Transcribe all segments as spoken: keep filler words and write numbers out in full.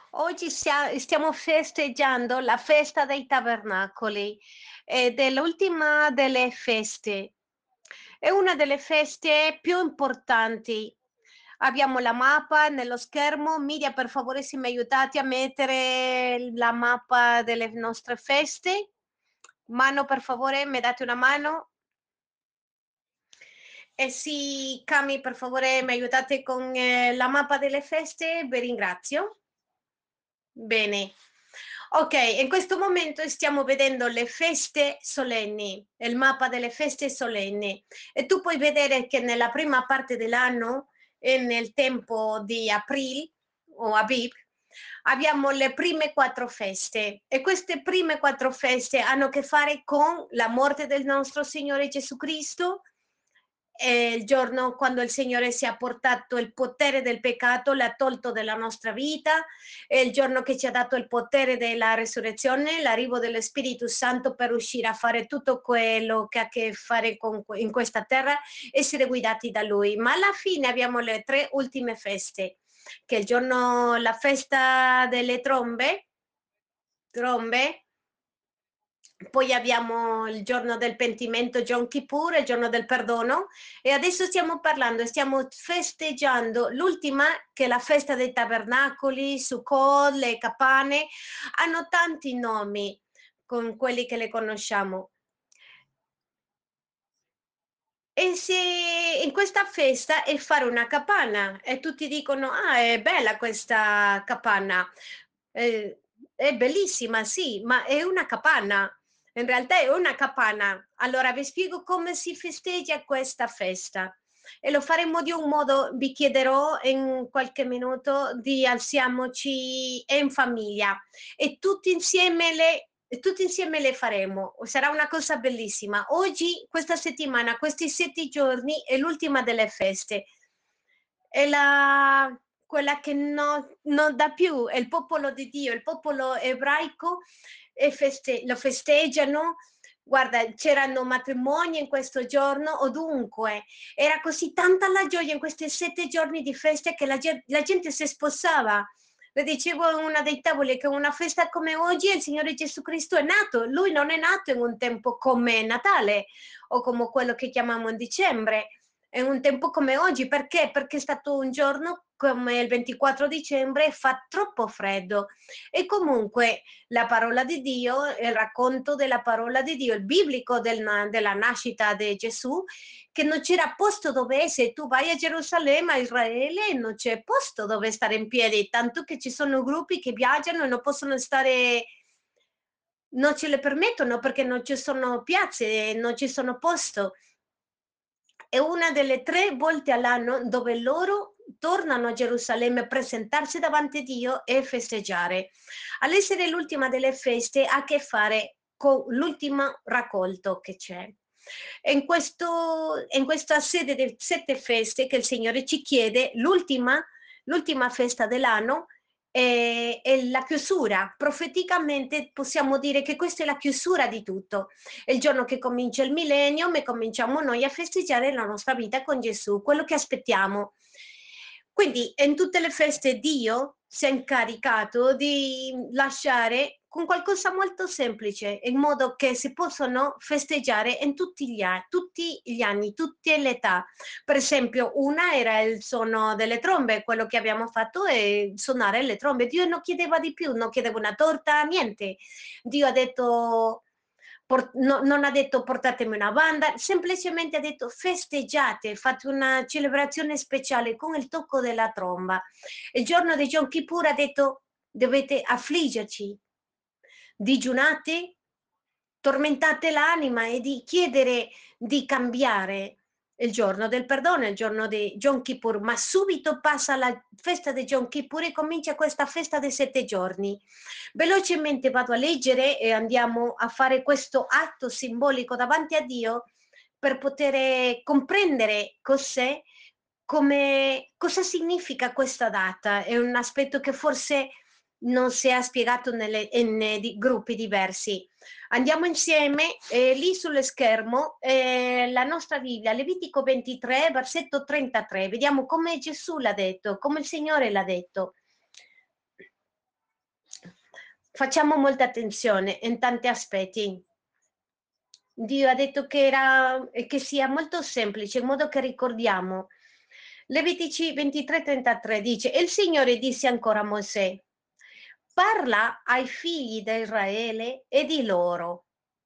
Oggi stia- stiamo festeggiando la festa dei tabernacoli ed è l'ultima delle feste. È una delle feste più importanti. Abbiamo la mappa nello schermo. Media, per favore, se mi aiutate a mettere la mappa delle nostre feste. Mano, per favore, mi date una mano. E sì, Cami, per favore, mi aiutate con eh, la mappa delle feste? Vi ringrazio. Bene. Ok, in questo momento stiamo vedendo le feste solenni, il mappa delle feste solenni e tu puoi vedere che nella prima parte dell'anno e nel tempo di aprile o Abib abbiamo le prime quattro feste e queste prime quattro feste hanno a che fare con la morte del nostro Signore Gesù Cristo, è il giorno quando il Signore si è portato il potere del peccato, l'ha tolto dalla nostra vita, è il giorno che ci ha dato il potere della resurrezione, l'arrivo dello Spirito Santo per riuscire a fare tutto quello che ha a che fare con, in questa terra, essere guidati da Lui. Ma alla fine abbiamo le tre ultime feste, che è il giorno, la festa delle trombe, trombe, poi abbiamo il giorno del pentimento, Yom Kippur, il giorno del perdono, e adesso stiamo parlando, stiamo festeggiando l'ultima, che è la festa dei tabernacoli, Sukkot, le capanne, hanno tanti nomi con quelli che le conosciamo. E se in questa festa è fare una capanna e tutti dicono, ah, è bella questa capanna. Eh, è bellissima, sì, ma è una capanna. In realtà è una capanna. Allora vi spiego come si festeggia questa festa. E lo faremo di un modo, vi chiederò in qualche minuto di alziamoci in famiglia e tutti insieme le e tutti insieme le faremo. Sarà una cosa bellissima. Oggi, questa settimana, questi sette giorni è l'ultima delle feste. È la, quella che no- non dà più, è il popolo di Dio, il popolo ebraico e feste- lo festeggiano. Guarda, c'erano matrimoni in questo giorno, ovunque. Era così tanta la gioia in questi sette giorni di feste che la, gen- la gente si sposava. Le dicevo in una dei tavoli che una festa come oggi il Signore Gesù Cristo è nato. Lui non è nato in un tempo come Natale o come quello che chiamiamo in dicembre, in un tempo come oggi. Perché? Perché è stato un giorno come il ventiquattro dicembre e fa troppo freddo. E comunque la parola di Dio, il racconto della parola di Dio, il biblico del, della nascita di Gesù, che non c'era posto dove essere. Tu vai a Gerusalemme, a Israele, e non c'è posto dove stare in piedi, tanto che ci sono gruppi che viaggiano e non possono stare, non ce le permettono perché non ci sono piazze, non ci sono posto. È una delle tre volte all'anno dove loro tornano a Gerusalemme a presentarsi davanti a Dio e festeggiare. All'essere l'ultima delle feste ha a che fare con l'ultimo raccolto che c'è. In, questo, in questa sede di sette feste che il Signore ci chiede, l'ultima, l'ultima festa dell'anno è, è la chiusura. Profeticamente possiamo dire che questa è la chiusura di tutto. È il giorno che comincia il millennio e cominciamo noi a festeggiare la nostra vita con Gesù, quello che aspettiamo. Quindi in tutte le feste Dio si è incaricato di lasciare con qualcosa molto semplice, in modo che si possono festeggiare in tutti gli, anni, tutti gli anni, tutte le età. Per esempio, una era il suono delle trombe, quello che abbiamo fatto è suonare le trombe. Dio non chiedeva di più, non chiedeva una torta, niente. Dio ha detto, por- no- non ha detto portatemi una banda, semplicemente ha detto festeggiate, fate una celebrazione speciale con il tocco della tromba. Il giorno di Yom Kippur ha detto dovete affliggerci, digiunate, tormentate l'anima e di chiedere di cambiare. Il giorno del perdono, il giorno di Yom Kippur, ma subito passa la festa di Yom Kippur e comincia questa festa dei sette giorni. Velocemente vado a leggere e andiamo a fare questo atto simbolico davanti a Dio per poter comprendere cos'è, come, cosa significa questa data. È un aspetto che forse non si è spiegato nelle, in, in, di, gruppi diversi. Andiamo insieme, eh, lì sullo schermo, eh, la nostra Bibbia, Levitico ventitré, versetto trentatré. Vediamo come Gesù l'ha detto, come il Signore l'ha detto. facciamo molta attenzione in tanti aspetti. Dio ha detto che era e che sia molto semplice, in modo che ricordiamo. Levitici ventitré trentatré dice: "E il Signore disse ancora a Mosè: Parla ai figli di Israele e di loro: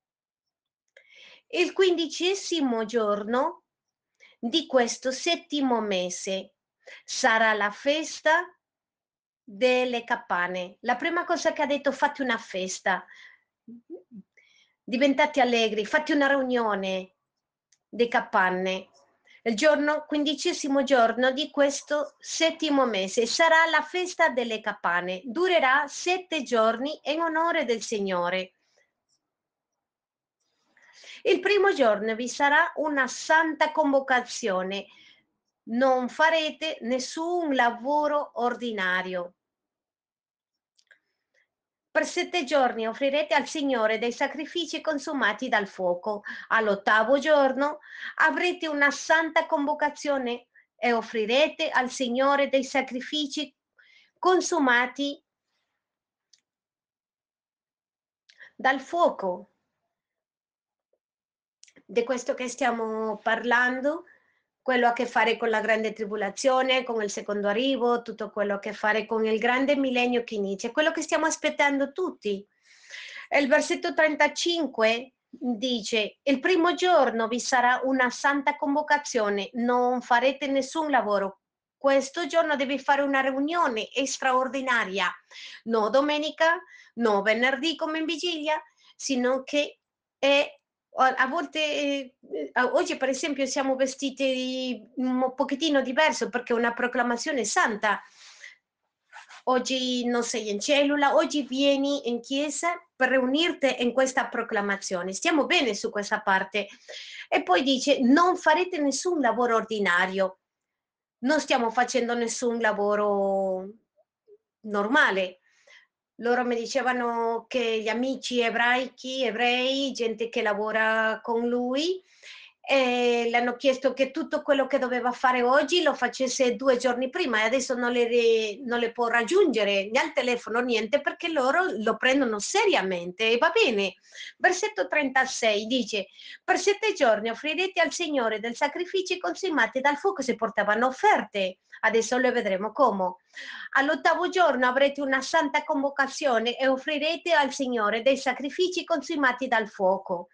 il quindicesimo giorno di questo settimo mese sarà la festa delle campane." La prima cosa che ha detto: fate una festa, diventate allegri, fate una riunione di capanne. Il giorno, quindicesimo giorno di questo settimo mese sarà la festa delle campane, durerà sette giorni in onore del Signore. Il primo giorno vi sarà una santa convocazione, non farete nessun lavoro ordinario. Per sette giorni offrirete al Signore dei sacrifici consumati dal fuoco. All'ottavo giorno avrete una santa convocazione e offrirete al Signore dei sacrifici consumati dal fuoco. Di questo che stiamo parlando, quello ha a che fare con la grande tribolazione, con il secondo arrivo, tutto quello ha a che fare con il grande millennio che inizia, quello che stiamo aspettando tutti. E il versetto trentacinque dice: il primo giorno vi sarà una santa convocazione, non farete nessun lavoro. Questo giorno devi fare una riunione straordinaria, no domenica, no venerdì come in vigilia, sino che è a volte, eh, oggi per esempio siamo vestiti un pochettino diverso perché è una proclamazione santa. Oggi non sei in cellula, oggi vieni in chiesa per riunirti in questa proclamazione. Stiamo bene su questa parte. E poi dice: non farete nessun lavoro ordinario. Non stiamo facendo nessun lavoro normale. Loro mi dicevano che gli amici ebraici, ebrei, gente che lavora con lui, eh, le hanno chiesto che tutto quello che doveva fare oggi lo facesse due giorni prima e adesso non le, non le può raggiungere né al telefono, niente, perché loro lo prendono seriamente. E va bene. Versetto trentasei dice: per sette giorni offrirete al Signore del sacrifici consumati dal fuoco. Si portavano offerte, adesso le vedremo come. All'ottavo giorno avrete una santa convocazione e offrirete al Signore dei sacrifici consumati dal fuoco.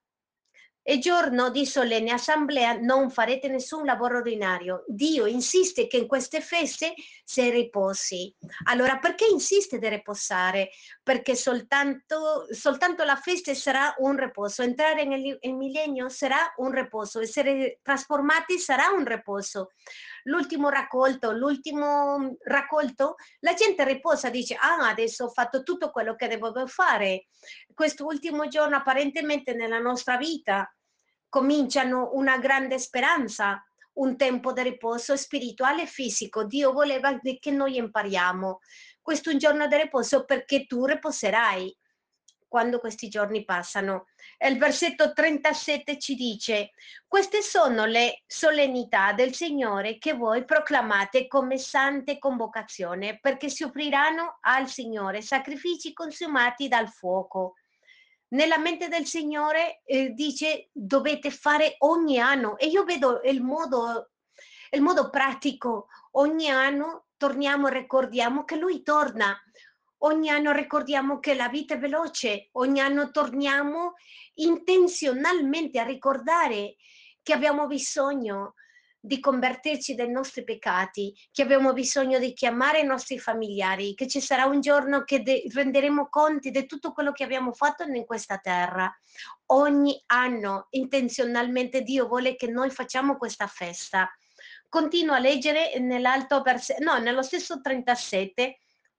E giorno di solenne assemblea non farete nessun lavoro ordinario. Dio insiste che in queste feste si riposi. Allora, perché insiste di riposare? Perché soltanto, soltanto la festa sarà un riposo. Entrare nel, nel millennio sarà un riposo. Essere trasformati sarà un riposo. L'ultimo raccolto, l'ultimo raccolto, la gente riposa, dice: ah, adesso ho fatto tutto quello che devo fare. Quest'ultimo giorno apparentemente nella nostra vita cominciano una grande speranza, un tempo di riposo spirituale e fisico. Dio voleva che noi impariamo. Questo è un giorno di riposo perché tu riposerai quando questi giorni passano. E il versetto trentasette ci dice: queste sono le solennità del Signore che voi proclamate come sante convocazione, perché si offriranno al Signore sacrifici consumati dal fuoco. Nella mente del Signore eh, dice: dovete fare ogni anno, e io vedo il modo, il modo pratico. Ogni anno torniamo e ricordiamo che Lui torna. Ogni anno ricordiamo che la vita è veloce, ogni anno torniamo intenzionalmente a ricordare che abbiamo bisogno di convertirci dai nostri peccati, che abbiamo bisogno di chiamare i nostri familiari, che ci sarà un giorno che de- renderemo conti di tutto quello che abbiamo fatto in questa terra. Ogni anno intenzionalmente Dio vuole che noi facciamo questa festa. Continuo a leggere nell'alto versetto, no, nello stesso trentasette,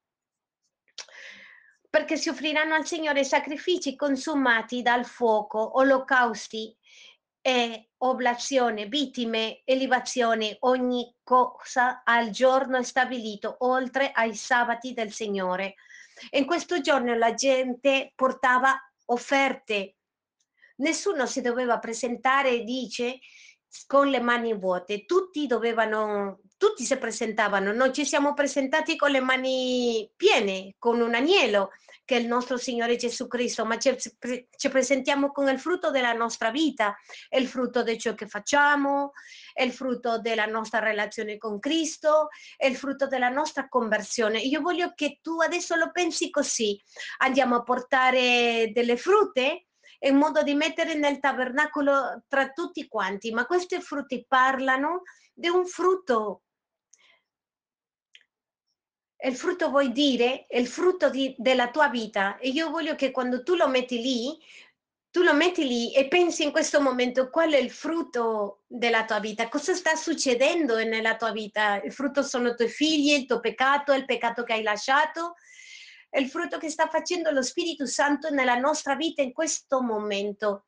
perché si offriranno al Signore sacrifici consumati dal fuoco, olocausti e oblazione, vittime e libazioni, ogni cosa al giorno stabilito, oltre ai sabati del Signore. In questo giorno la gente portava offerte. Nessuno si doveva presentare, dice, con le mani vuote, tutti dovevano, tutti si presentavano, noi ci siamo presentati con le mani piene, con un agnello che è il nostro Signore Gesù Cristo, ma ci, ci presentiamo con il frutto della nostra vita, è il frutto di ciò che facciamo, è il frutto della nostra relazione con Cristo, è il frutto della nostra conversione. Io voglio che tu adesso lo pensi così, andiamo a portare delle frutte in modo di mettere nel tabernacolo tra tutti quanti, ma questi frutti parlano di un frutto. E il frutto vuol dire è il frutto di, della tua vita, e io voglio che quando tu lo metti lì, tu lo metti lì e pensi in questo momento qual è il frutto della tua vita, cosa sta succedendo nella tua vita. Il frutto sono i tuoi figli, il tuo peccato, il peccato che hai lasciato, è il frutto che sta facendo lo Spirito Santo nella nostra vita in questo momento.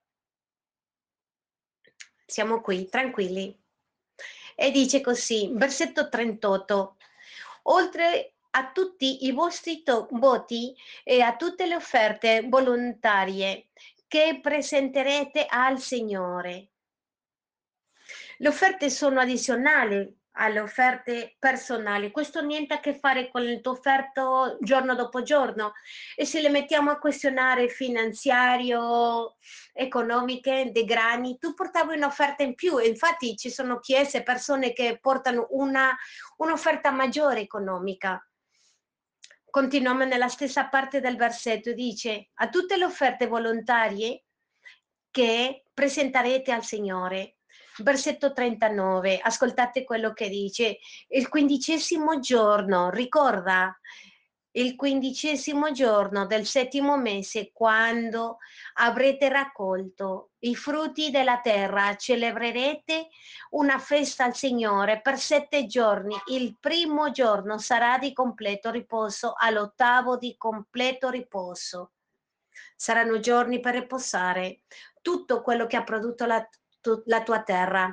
Siamo qui, tranquilli. E dice così, versetto trentotto, oltre a tutti i vostri to- voti e a tutte le offerte volontarie che presenterete al Signore. Le offerte sono addizionali alle offerte personali, questo niente a che fare con il tuo offerto giorno dopo giorno, e se le mettiamo a questionare finanziario, economiche, dei grani, tu portavi un'offerta in più, e infatti ci sono chiese, persone che portano una, un'offerta maggiore economica. Continuiamo nella stessa parte del versetto, dice a tutte le offerte volontarie che presenterete al Signore. Versetto trentanove, ascoltate quello che dice, il quindicesimo giorno, ricorda, il quindicesimo giorno del settimo mese, quando avrete raccolto i frutti della terra, celebrerete una festa al Signore per sette giorni. Il primo giorno sarà di completo riposo, all'ottavo di completo riposo. Saranno giorni per riposare tutto quello che ha prodotto la, tu, la tua terra.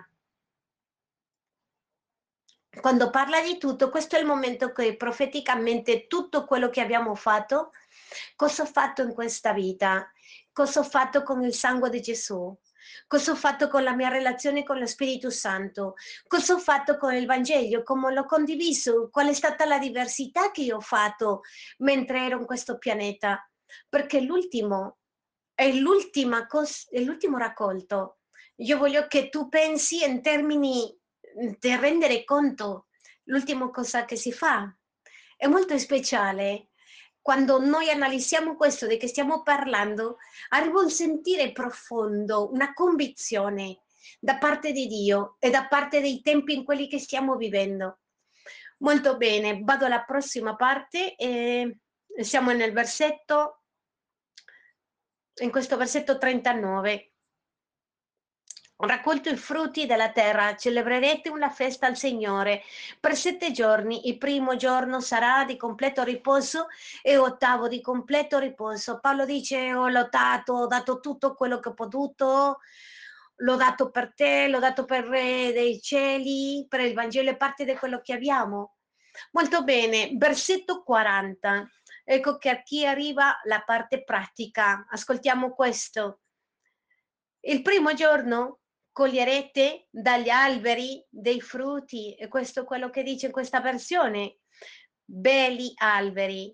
Quando parla di tutto, questo è il momento che profeticamente tutto quello che abbiamo fatto, cosa ho fatto in questa vita, cosa ho fatto con il sangue di Gesù, cosa ho fatto con la mia relazione con lo Spirito Santo, cosa ho fatto con il Vangelo, come l'ho condiviso, qual è stata la diversità che io ho fatto mentre ero in questo pianeta, perché l'ultimo è l'ultima cosa, è l'ultimo raccolto. Io voglio che tu pensi in termini di rendere conto l'ultima cosa che si fa. È molto speciale. Quando noi analizziamo questo di che stiamo parlando, arriva un sentire profondo, una convinzione da parte di Dio e da parte dei tempi in quelli che stiamo vivendo. Molto bene, vado alla prossima parte e siamo nel versetto, in questo versetto trentanove. Ho raccolto i frutti della terra, celebrerete una festa al Signore per sette giorni. Il primo giorno sarà di completo riposo e ottavo di completo riposo. Paolo dice: ho lottato, ho dato tutto quello che ho potuto, l'ho dato per te, l'ho dato per il Re dei cieli, per il Vangelo, è parte di quello che abbiamo. Molto bene, versetto quaranta. Ecco che a chi arriva la parte pratica. Ascoltiamo questo. Il primo giorno coglierete dagli alberi dei frutti, e questo è quello che dice in questa versione, belli alberi.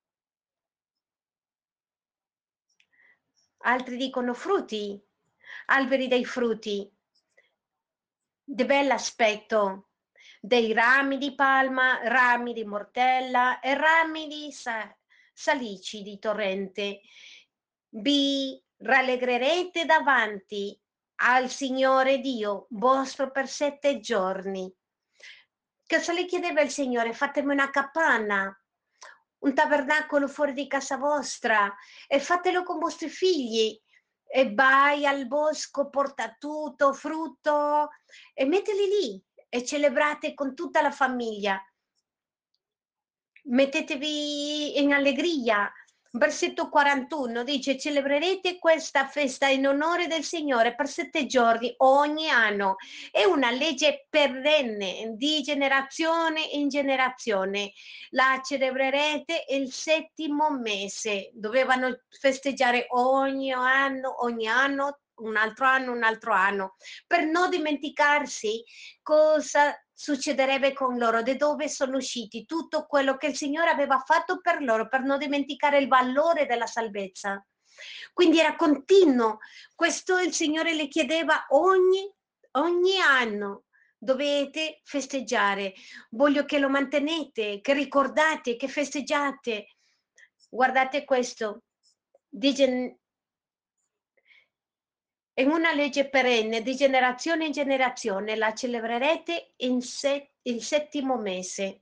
Altri dicono frutti, alberi dei frutti, di bell'aspetto, dei rami di palma, rami di mortella e rami di sa- salici di torrente. Vi rallegrerete davanti al Signore Dio vostro per sette giorni. Cosa le chiedeva il Signore? Fatemi una capanna, un tabernacolo fuori di casa vostra, e fatelo con vostri figli. E vai al bosco, porta tutto, frutto, e mettili lì e celebrate con tutta la famiglia. Mettetevi in allegria. Versetto quarantuno dice: celebrerete questa festa in onore del Signore per sette giorni ogni anno. È una legge perenne di generazione in generazione. La celebrerete il settimo mese. Dovevano festeggiare ogni anno, ogni anno, un altro anno, un altro anno, per non dimenticarsi cosa succederebbe con loro, da dove sono usciti, tutto quello che il Signore aveva fatto per loro, per non dimenticare il valore della salvezza. Quindi era continuo. Questo il Signore le chiedeva ogni, ogni anno. Dovete festeggiare. Voglio che lo mantenete, che ricordate, che festeggiate. Guardate questo. Dice, è una legge perenne, di generazione in generazione, la celebrerete in se- il settimo mese.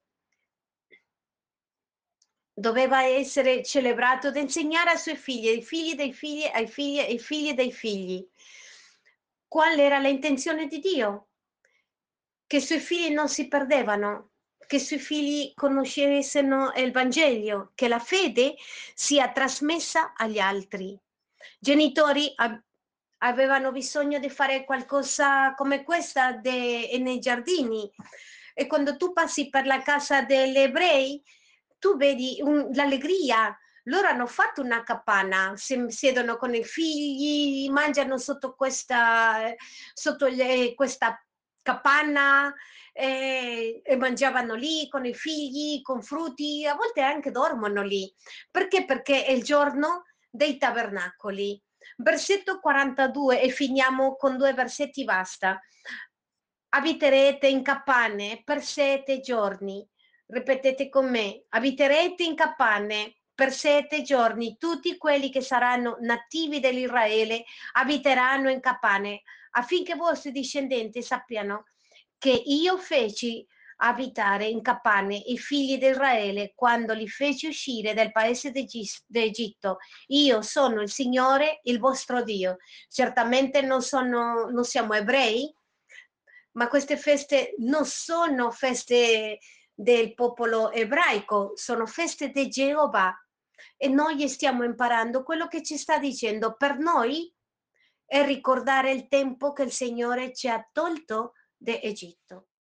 Doveva essere celebrato da insegnare ai suoi figli, ai figli dei figli, ai figli, ai figli dei figli. Qual era l'intenzione di Dio? Che i suoi figli non si perdevano, che i suoi figli conoscessero il Vangelo, che la fede sia trasmessa agli altri. Genitori ab- avevano bisogno di fare qualcosa come questa de- nei giardini, e quando tu passi per la casa degli ebrei, tu vedi un- l'allegria. Loro hanno fatto una capanna, si siedono con i figli, mangiano sotto questa, sotto le- questa capanna, eh, e mangiavano lì con i figli, con frutti, a volte anche dormono lì. Perché? Perché è il giorno dei tabernacoli. Versetto quarantadue, e finiamo con due versetti, basta. Abiterete in capanne per sette giorni. Ripetete con me, abiterete in capanne per sette giorni. Tutti quelli che saranno nativi dell'Israele abiteranno in capanne, affinché i vostri discendenti sappiano che io feci abitare in capanne i figli di Israele quando li feci uscire dal paese d'Egitto. Io sono il Signore, il vostro Dio. Certamente non, sono, non siamo ebrei, ma queste feste non sono feste del popolo ebraico, sono feste di Geova, e noi stiamo imparando quello che ci sta dicendo. Per noi è ricordare il tempo che il Signore ci ha tolto da Egitto.